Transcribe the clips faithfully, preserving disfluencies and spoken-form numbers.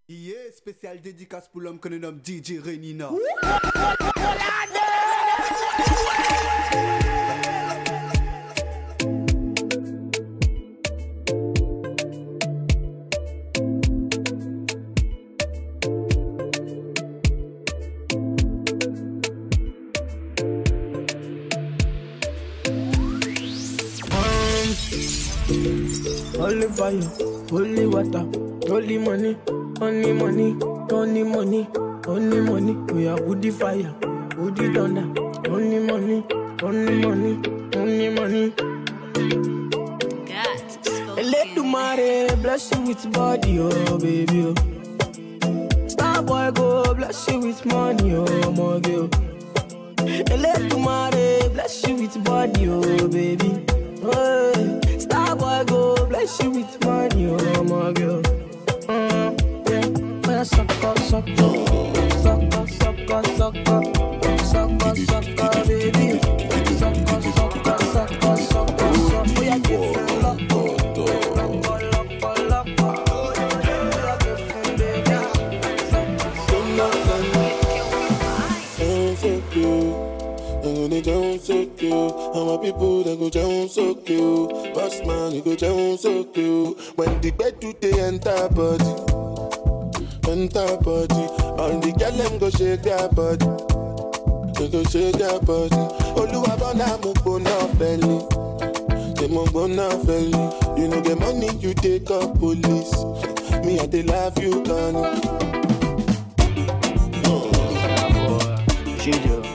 Yeah, spécial dédicace pour l'homme que l'on nomme D J Renina. Holy fire, holy water, holy money, only money, only money, only money. We are woody fire, woody thunder, only money, only money, only money. Let the mare bless you with body, oh baby, oh. Star boy go bless you with money, oh my girl. Let the mare bless you with body, oh baby. Oh, star boy go bless you with money, oh my girl. Mm, yeah, well, sucker, sucker, sucker, sucker, sucker, sucker, sucker, baby. Sucker, sucker, sucker, sucker, sucker. We are giving love, love, love, love, love. We are giving baby. So cute. And they down so cute. And my people they go down so cute. Boss man, you go down so cute. When the bed do they enter body, enter body. All the girl them go shake their body, they go shake their body. Oluwa bona mo bona belly, they mo bona belly. You know the money you take up police. Me I they love you gone. Junior.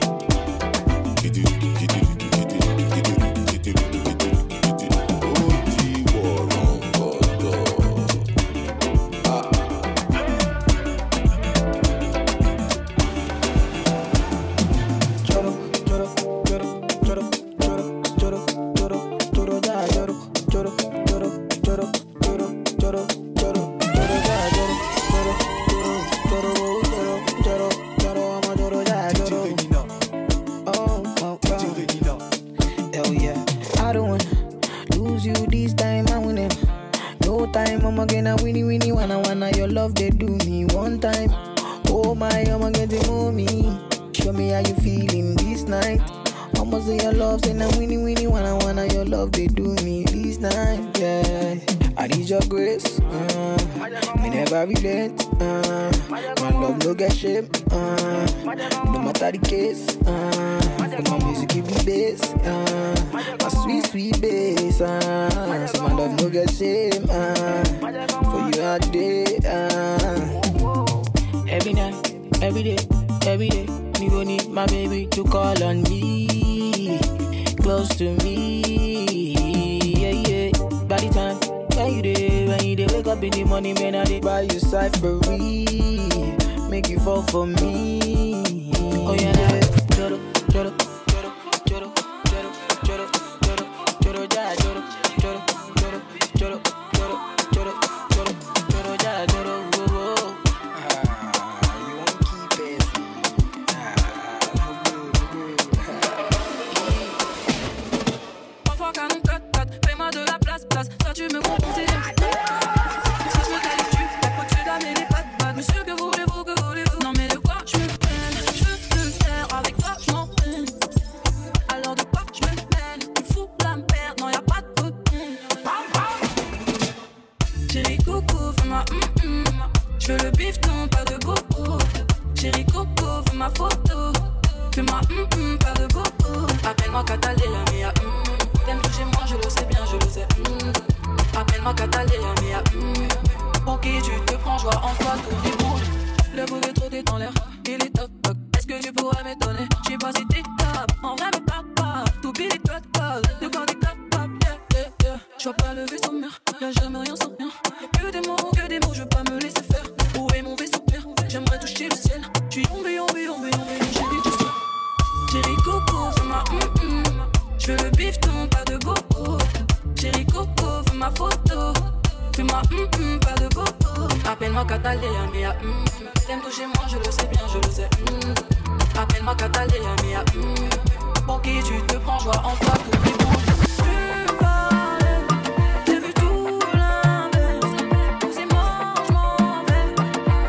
J'ai vu tout l'inverse. C'est moi, je m'en vais.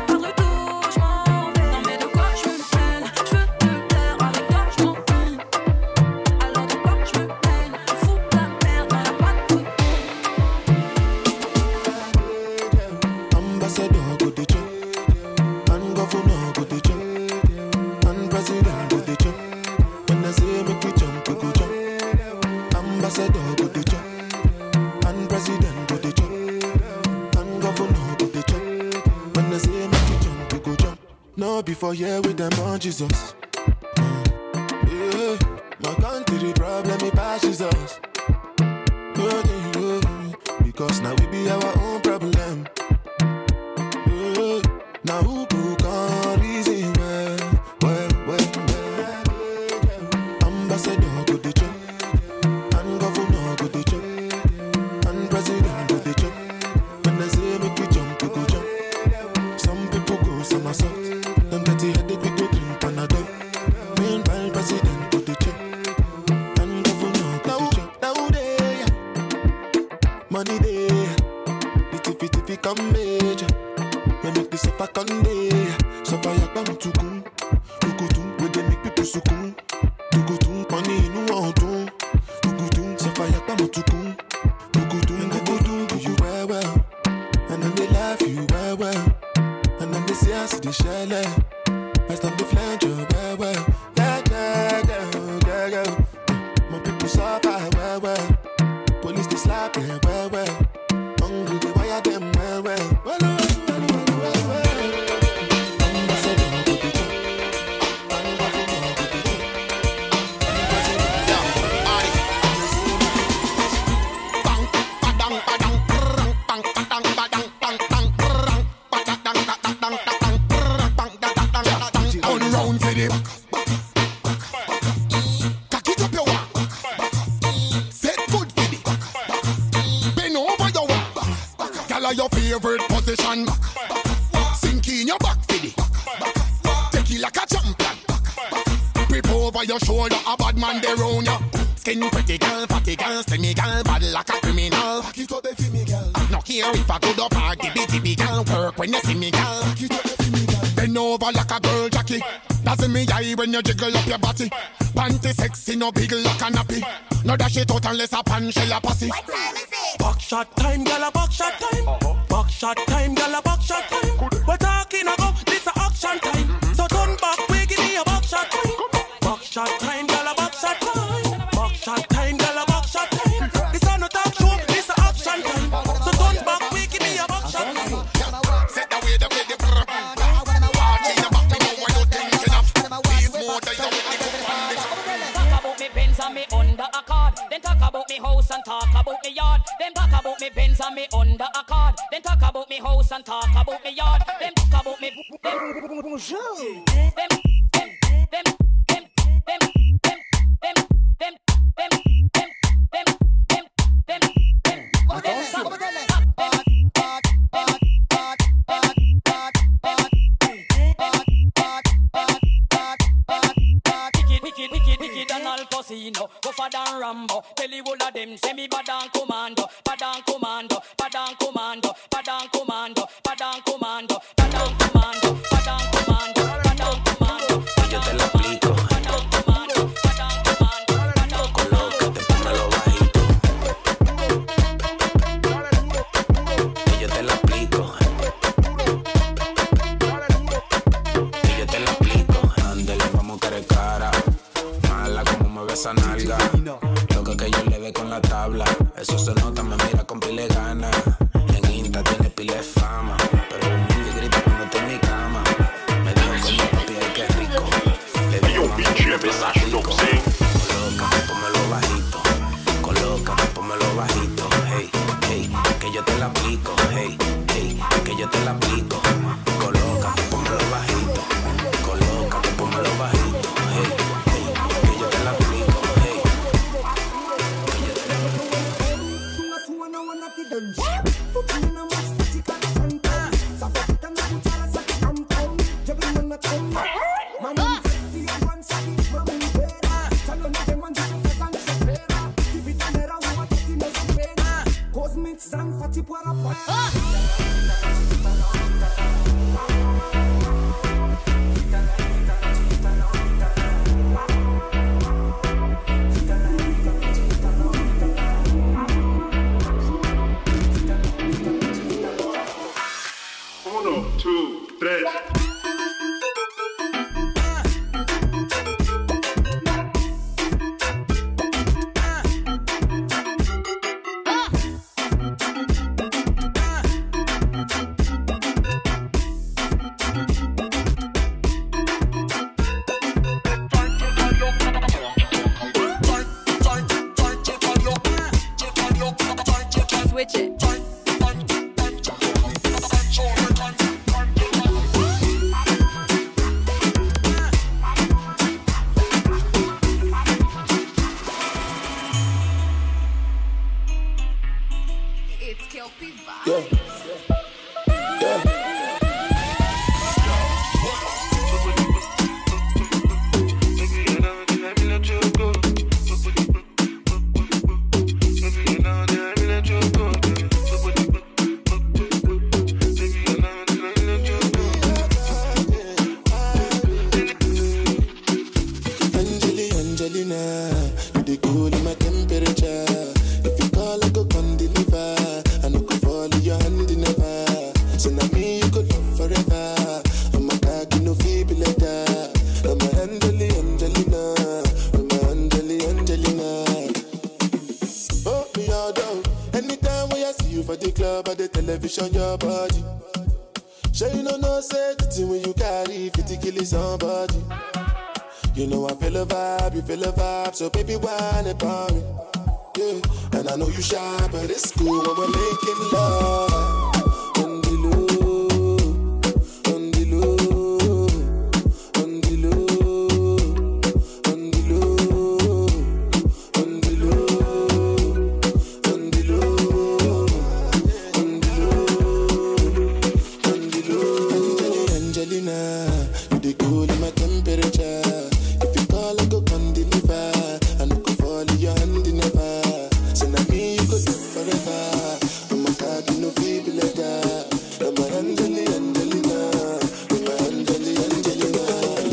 Ambassador go the chop, and governor go the chop, and president go the chop. When I say make we jump, we go jump. Ambassador go the chop, and president go the chop, and governor go the chop. When I say make we jump, we go jump. No before here with them on Jesus. Yeah, my country problem it passes us. Because now we be our own problem. Yeah. Now who can reason well, well, well, well. Ambassador go the chop, and governor go the chop, and president go the chop. When I say make we jump, we go jump. Some people go somersault. Them get the headache, we go drink Panadol. Meanwhile, president go the chop, and governor go the chop. Now they money they, little fit if it come major. We make this up a Sunday. So fire bam to come, you go to where they make people succumb. You go to money no one do. You go to so fire bam to come. You go to, you go to do you well well, and then they laugh you well well, and then they say I see the shell. I stand the flange you well well. Yeah yeah yeah yeah yeah. My people suffer well well. Police they slap them well well. Hungry they wire them well well. Well well well well well well. Ambassador go the chop, and governor go the chop. Yeah, aye. Bang, badang, badang, bang, bang, badang, badang, bang, bang, badang, badang, badang, badang, bang, badang, badang. On round for them. Cock it up your walk. Set good for them. Bend over your walk. Gyal your favorite position. Sink in your back for them. Take it like a champion. Grip over your shoulder, a bad man they round ya. Skin pretty girl, fatty girl, slimmy girl, bad like a criminal. Back it up the me girl. No care if I good up or dibby dibby girl. Work when you see me girl. Back it up the me girl. Bend over like a girl Jackie. That's in me eye when you jiggle up your body. Panty sexy, no big like a nappy. No dash it out unless a pan shell a pussy. Back shot time, gyal a back shot time. Back shot time, gyal a back shot time. We're talking about this a action time. So turn back, we give me a back shot time. Back shot time, gyal a back shot time. Back shot time, gyal a back shot time. This a no talk show, this a action time. So turn back, we give me a back shot time. Set the way the way the brr. Watch in your back, me know what you thinking of. Please more than you with the good one. Talk about me Benz and me under a card. Then talk about me house and talk about me yard. Then talk about me Benz and me under a card. Then talk about me house and talk about me yard. Then talk about me. Bonjour. Them, them, them, them, them, them, them, them, them, them, them, them, them, them, them. Wicked, wicked, wicked and Al Pacino. Go for than Rambo. Tell you all of them say me bad and commando, bad and commando, bad and commando, bad and commando, bad and commando, bad and commando, bad and commando, bad and commando. Yo te la aplico. Colócate, póngalo bajito. Y yo te la aplico. Y yo te la aplico. Ándale, vamos que eres cara. Mala como me ves esa nalga. Loca que yo le dé con la tabla. Eso se nota, me mira con pile gana. En Insta tiene pile de fama. Pero el mundo grita cuando estoy en mi cama. Me dijo coño papi, ay qué rico. Le digo mami, colócate, pónmelo bajito. Colócate, pónmelo bajito. Hey, hey, que yo te la aplico. Hey, hey, que yo te la aplico. Colócate, pónmelo bajito. Colócate, pónmelo bajito. Hey, hey, que yo te la aplico. Hey, que yo te la Cosmic Zang Fati Para two, tres. Switch it. It's Kelpie Vibes. Yeah. Yeah. Angeli, Angelina, you the cool in my temperature. If you call, I go come deliver. I no go fall in your hand never. So now me you could love forever. I'm a cocky no feeble letter. I'm a Angeli, Angelina. I'm a Angeli, Angelina. Oh, me all down. Anytime when I see you for the club or the television, your body. Sure you know no say the thing when you carry fifty kill somebody. You know I feel a vibe, you feel a vibe, so baby whine about me. Yeah, and I know you shy, but it's cool when we're making love. On the low, on the low, on the low, on the low, on the low, on the low, on the low, on the low. Angelina, you the cool in my temperature. If you call, I go come deliver. I no go fall in your hand never. So now me you go do forever. I'm a cocky no feeble letter. I'm a Angeli, Angelina. I'm a Angeli, Angelina.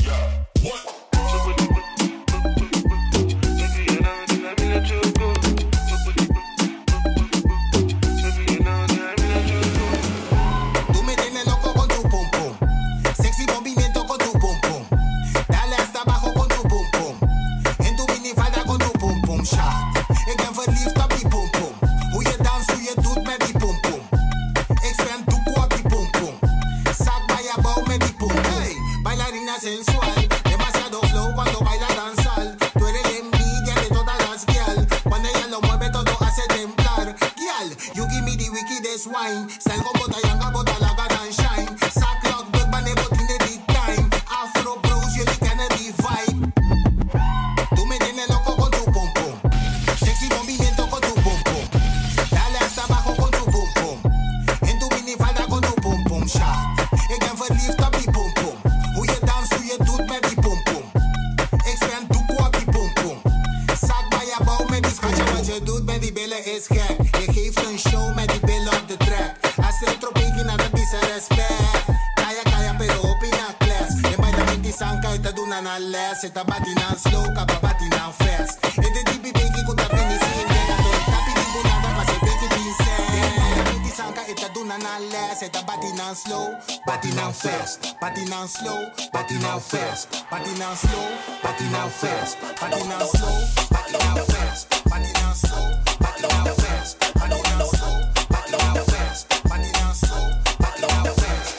Tú me tienes loco con tu pum pum. Sexy movimiento con tu pum pum. Dale hasta abajo con tu pum pum. En tu minifalda con tu pum pum shot. Ik ben verliefd op die pum pum. Hoe je danst, hoe je doet met die pum pum. Ik zwem doekoe op die pum pum. Zak bij je bouw met die pum pum. Hey, bailarina sensual. Demasiado flow cuando baila danzal. Tú eres la envidia de todas las girl. Cuando ella lo mueve todo hace temblar. Girl, you give me the wickedest wine. Salgo bota yanga bota la and shine. Sacklock, big bane botine the time. Afro bros, jullie kennen die vibe. Tú me tienes loco con tu pum pum. Sexy movimiento con tu pum pum. Dale hasta abajo con tu pum pum. En tu minifalda con tu pum pum shot. Ik ben verliefd op die pum pum. Hoe je danst, hoe je doet met die pum pum. Ik zwem doekoe op die pum pum. Zak bij je bouw met die schatje. Wat je doet met die billen is gek. Je geeft een show met die billen op de track. Als je tropiki na de pisa respect. Kaya kaya pero opina class. Je bij de vinti sanka ita doen aan een les. Ita batina slow, kapa batina fast. En de dibi beki kuta finisi in de gato. Tapi di bunada pa se beki pinse. Je bij de vinti sanka ita doen aan een les. Ita batina slow, batina fast. Batina slow, batina fast. Batina slow, batina fast. Batina slow, batina fast. Batina slow, batina fast. Batina slow, batina fast. Batina slow, batina fast.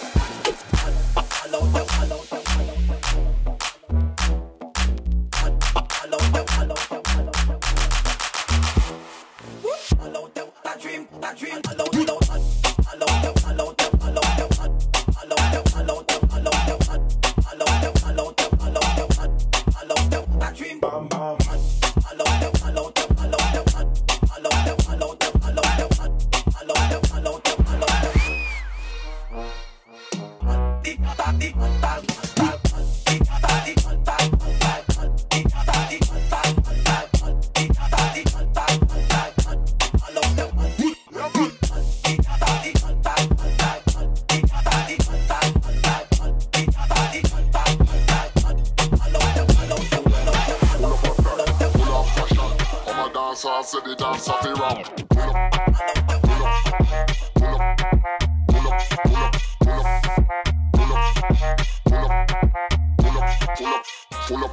So I said the dance off the wrong. Pull up, pull up, pull up, pull up, pull up, pull up.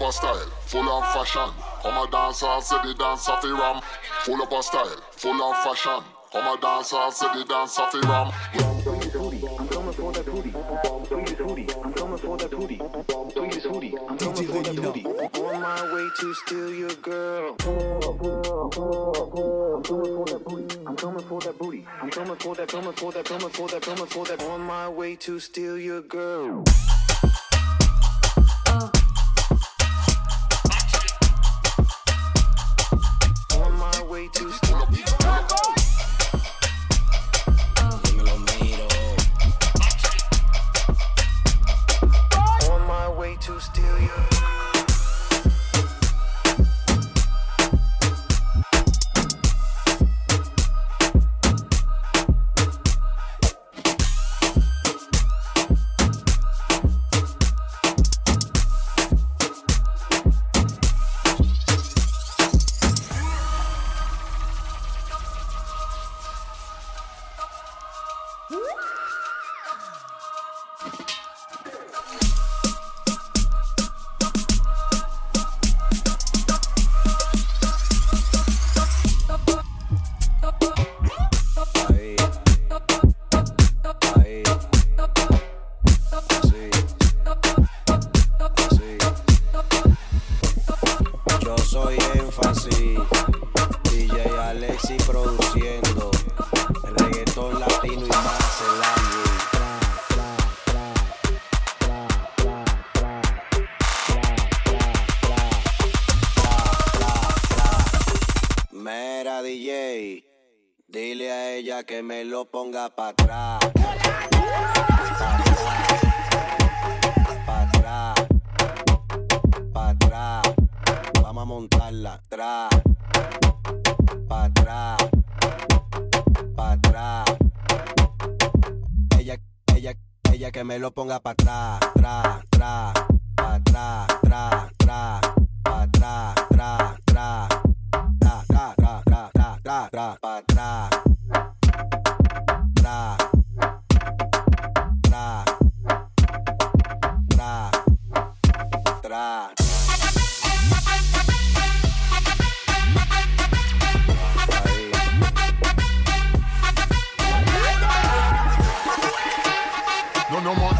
a style, full of fashion. Come a dance hall, say the dance of the ram. Full up a style, full of fashion. Come a dance hall, say the dance of the ram. I'm coming for that booty. Bring this hoodie. I'm coming for that booty. Bring this hoodie. I'm coming for that booty. On my way to steal your girl. I'm coming for that booty. I'm coming for that, coming for that, coming for that, coming for that. On my way to steal your girl. On my way to steal your girl. To steal you. Que me lo ponga pa' atrás. Pa' atrás. Pa' atrás. Vamos a montarla atrás. Pa' atrás. Pa' atrás. Ella, ella, ella que me lo ponga pa' atrás. Tra, tra. Pa' atrás, tra, tra. Pa' atrás, tra, tra. Tra, tra, tra, tra, tra, tra, tra. Pa' atrás. Tra, tra, tra, tra. No, no more.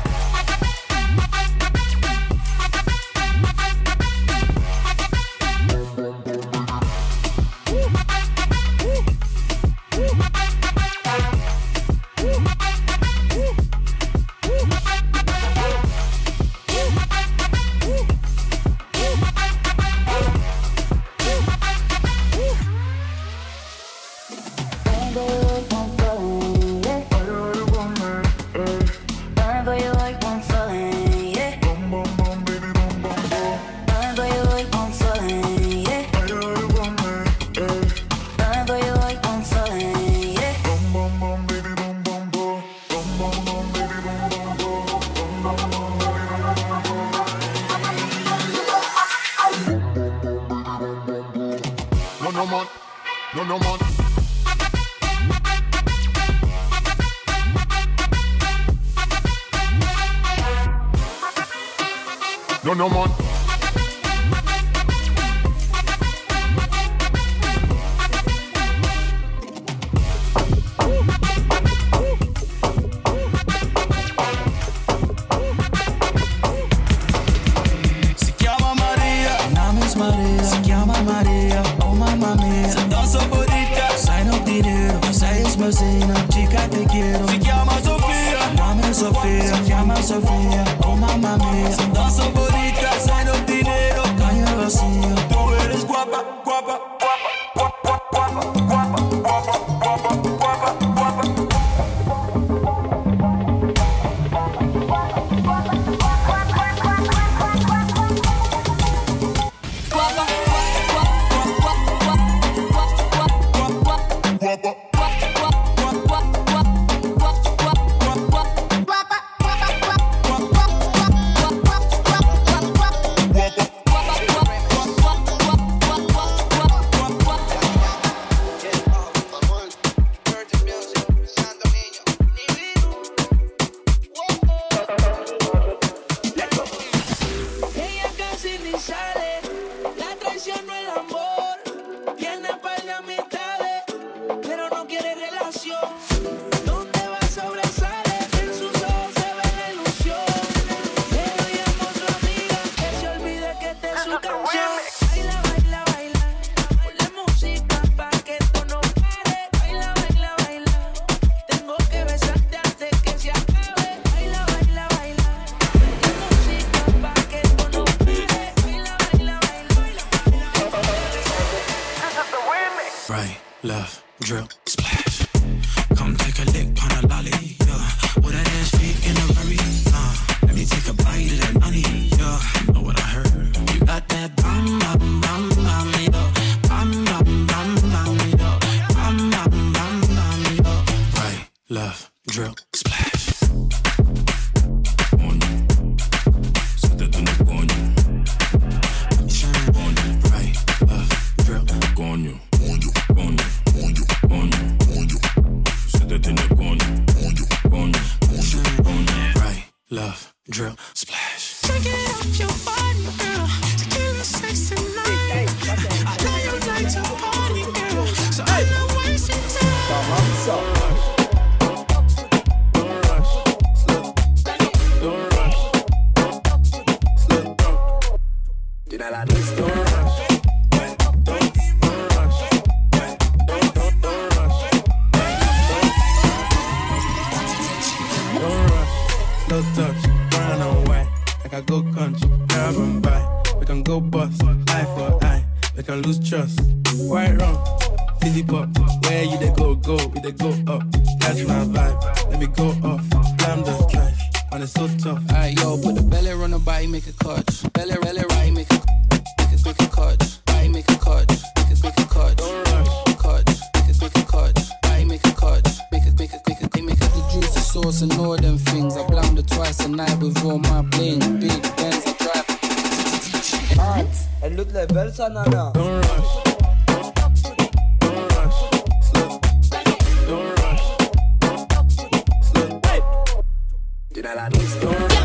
No, no man. Si chiama Maria, il nome è Maria. Si chiama Maria, oh mamma mia. Se danza bonita, sai non ti nero. Sei esmasina, chica te quiero. Si chiama Sofia, il nome è Sofia. Si chiama Sofia, oh mamma mia. Se danza bonita, sai non ti nero. Caña vacía, tú eres guapa, guapa, guapa, guapa, guapa, guapa, guapa, guapa, guapa, guapa. drill, splash. Take it off your body, girl. Tequila, sex tonight. I know you like to party, girl. So I'm not wasting time. Tira la lista. Don't rush. Don't, don't rush. Don't, don't, don't rush. Don't rush. Slow touch. Brown and white. Like I go country. Grab and buy. We can go bust. Eye for eye. We can lose trust. White rum. Fizzy pop. Where you they go, go. We they go up. Catch my vibe. Let me go off. Slam the trash. And it's so tough. Alright, yo, put the belly on the body, make a catch. Belly, belly, right, make a make a make a catch. Body, make a catch. Make a make a catch. Don't rush. Catch. Make a make a catch. Body, make a catch. Make a make a make a make a the juice, the sauce, and all them things. I blammed it twice a night with all my bling. Big Benz, I drive. Art, elle look like belle ça, nana. Don't rush. Don't rush. Slow. Don't rush. Slow. Hey. Tira la lista. Don't rush.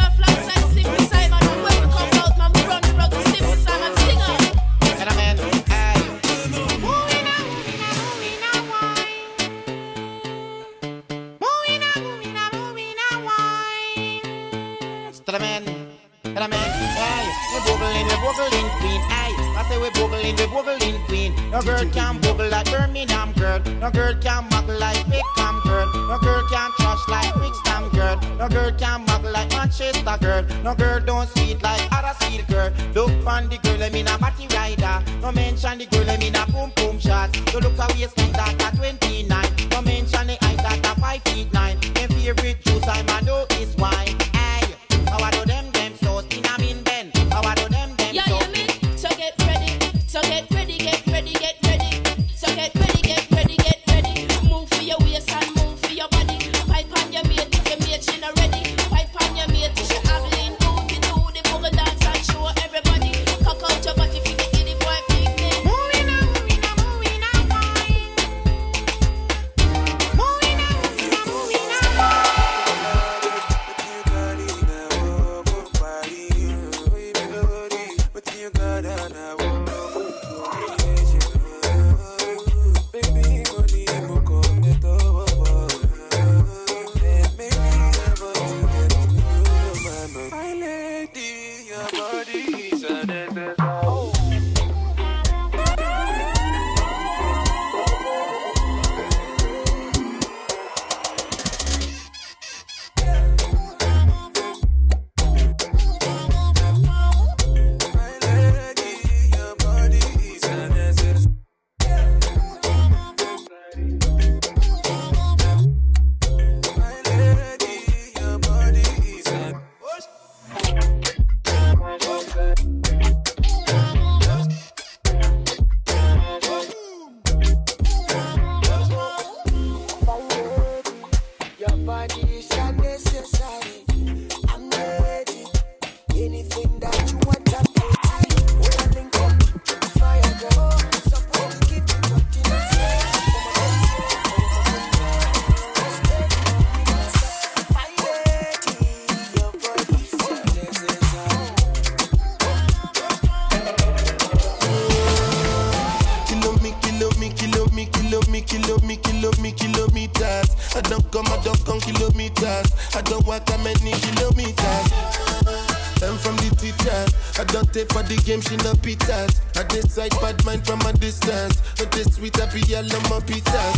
No girl can bubble like Birmingham girl. No girl can muggle like Wickham girl. No girl can trash like Brixton girl. No girl can muggle like Manchester girl. No girl don't sweet like Huddersfield girl. Look on the girl, I mean a batty rider. No mention the girl, I mean a boom boom shot. You look at waistline that at twenty-nine. No mention the height that at five feet nine. My favorite juice I man know is wine. Hey, how I do them them so in a mean Ben. How I do them them yeah, so. Yeah, yeah, so get ready, so get ready, get ready, get ready. So get ready, get ready, get ready. Move for your waist and move for your body. Pipe on your mate, if your mate she not ready. Pipe on your mate, she haggling. Do the do the boogie dance and show everybody. Cock out your body, fi get the boy picnic. Moving on, moving on, moving on, wine. Moving on, moving on, moving on, For the game, she no pitas. I decide bad mind from a distance. But this sweet happy yellow my pitas.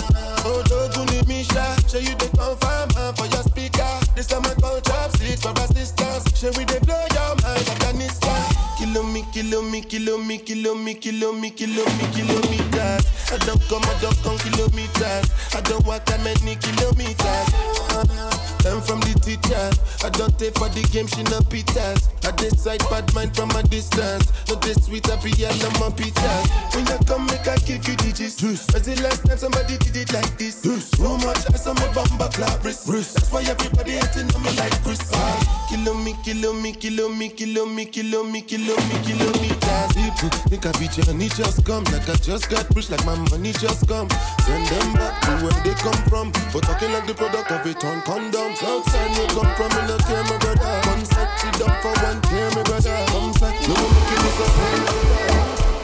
Oh, don't you need me, Sha? Show you the confirm for your speaker. This time I call chopsticks for assistance. Show we they blow your mind like a nista. Kilo me, kilo me, kilo me, kilo me, kilo me, kilo me, kilometers. I don't come, I don't come kilometers. I don't walk that many kilometers. Learn from the teacher. I don't take for the game, she no pitas. I decide bad mind from a distance. Not this sweet, I be all on my pizzas. When you come, make I give you digits. As the last time somebody did it like this. Too much ice on my bumper clap wrist. That's why everybody hating on me like Chris. Kilo me, kilo me, kilo me, kilo me, kilo me, kilo me, kilometers. People think I be journey just come. Like I just got rich, like my money just come. Send them back to where they come from. For talking like the product of it on condoms. Outside me come from, me no care, my brother. One side, sit down for one care, my brother. Come side, no one making this up, my brother.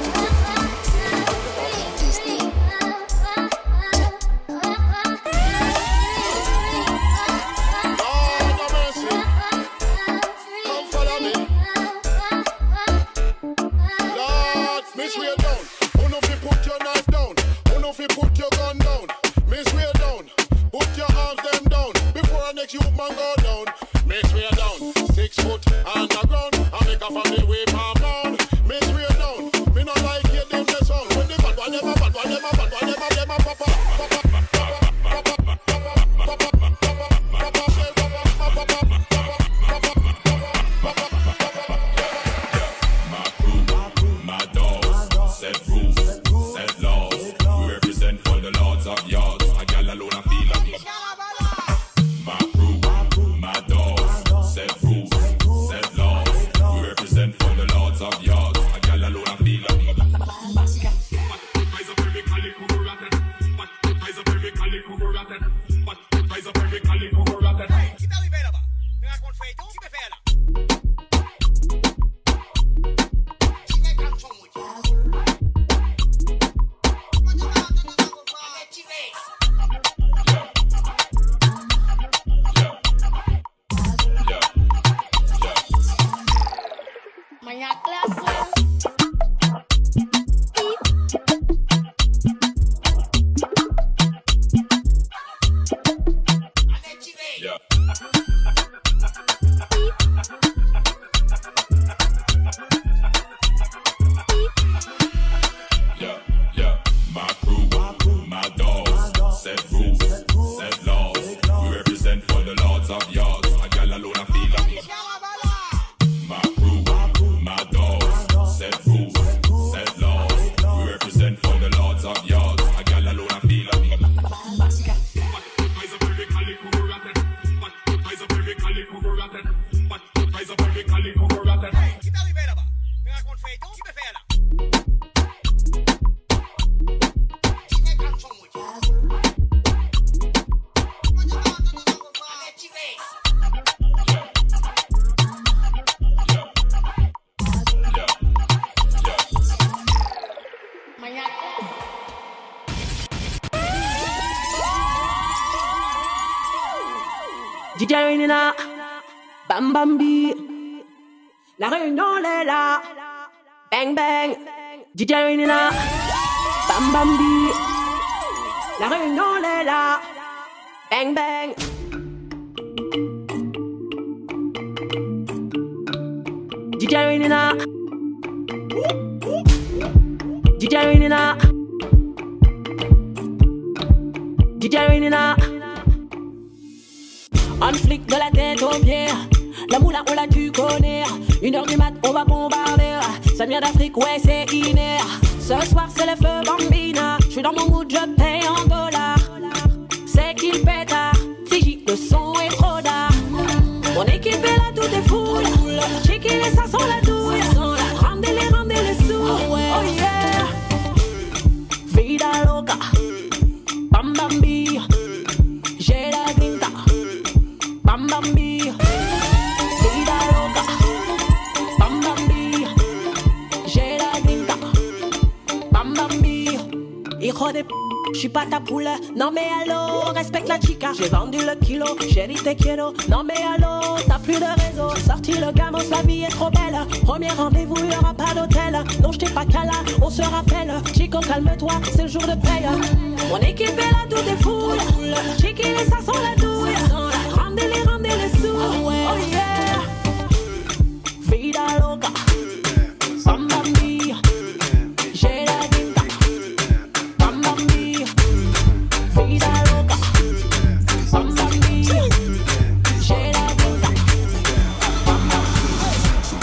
You man go down, make way down. Six foot underground, I make a family way palm down. Make way down, me not like hear them the sound. When they bad one, them a bad one, them a bad one, them a them a papa. My crew, my dogs, set rules, set laws. We represent for the lords of yards. A gal alone I feel like my crew, my dogs, set rules, set laws. We represent for the lords of yards. A gal alone I feel like D J Renina, Bam Bambi, la réunion est là, bang bang. D J Renina, Bam Bambi, la réunion est là, bang bang. D J Renina, D J Renina, D J Renina. On flic de la tête aux pieds. La moula on l'a tu connais. Une heure du mat on va bombarder. Ça vient d'Afrique ouais c'est inné. Ce soir c'est le feu bambina. J'suis dans mon mood je paye en dollars. C'est qu'il pétard. Fiji le son est trop d'art. Mon équipe est là tout est full. Chicken et ça sent la douille. Rendez-les rendez-les sous. Oh yeah. Vida loca. Bam bambi. J'ai la grinta. Bam Bambi, vida loca. Bam Bambi, j'ai la grinta. Bam Bambi, hijo de p***, j'suis pas ta poule. Non mais allô, respecte la chica. J'ai vendu le kilo, chérie te quiero. Non mais allô, t'as plus de réseau. Sorti le gamin, la vie est trop belle. Premier rendez-vous, y'aura pas d'hôtel. Non j't'ai pas cala, on se rappelle. Chico calme-toi, c'est le jour de paye. Mon équipe est là, tout est full. Chicky et ça sent la douille. Rendez-les, rendez-les sous. Oh yeah. Vida loca. Bam Bambi. J'ai la grinta. Bam Bambi. Vida loca. Bam Bambi. J'ai la grinta. Bam Bambi.